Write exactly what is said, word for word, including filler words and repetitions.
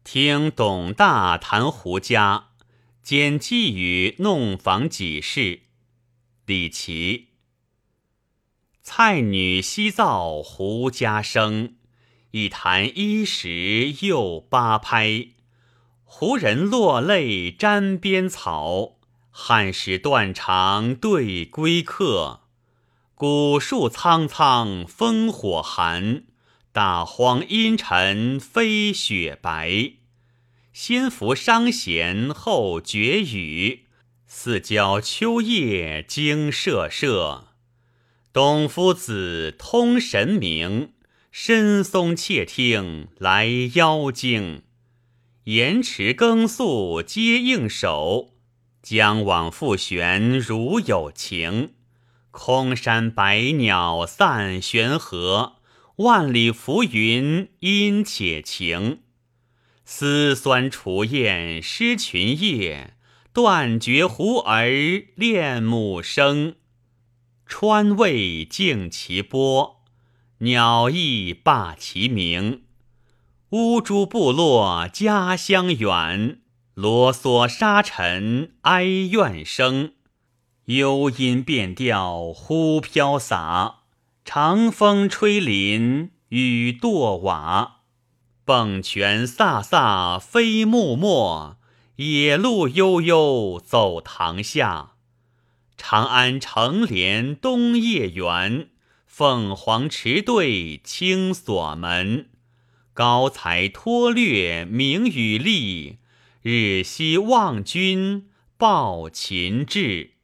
听董大谈胡家，兼寄语弄访己事。李琦。蔡女西造胡家生，一谈衣食又八拍。胡人落泪沾边草，汉使断肠对归客。古树苍苍烽火寒，大荒阴沉飞雪白。先伏商弦后绝雨，四郊秋夜惊瑟瑟。董夫子通神明，申松窃听来妖精。延迟更宿皆应手，将往复旋如有情。空山百鸟散悬河，万里浮云因且晴。丝酸雏燕失群夜，断绝胡儿恋母声。川渭静其波，鸟翼罢其鸣。乌珠部落家乡远，啰嗦沙尘哀怨声。幽音变调忽飘洒，长风吹林雨堕瓦。迸泉飒飒飞木末，野鹿悠悠走塘下。长安城帘东夜圆，凤凰池对青锁门。高才脱略明雨丽，日夕望君报秦志。